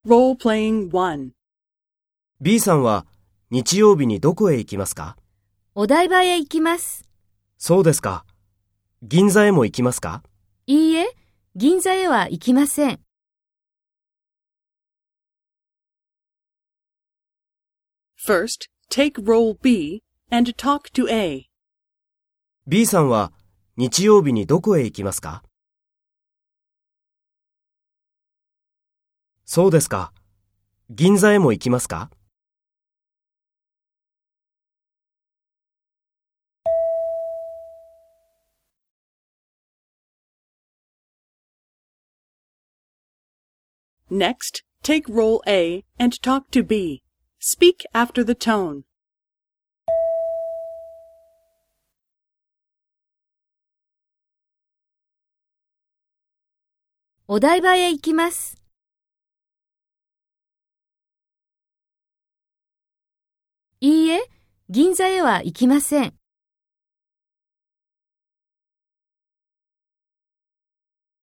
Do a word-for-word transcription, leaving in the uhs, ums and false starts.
Role-playing one. B さんは日曜日にどこへ行きますか？ お台場へ行きます。 そうですか。銀座へも行きますか？ いいえ、銀座へは行きません。 First, take role B and talk to A. B さんは日曜日にどこへ行きますか？そうですか。銀座へも行きますか？ Next, take role A and talk to B. Speak after the tone. お台場へ行きます。いいえ、銀座へは行きません。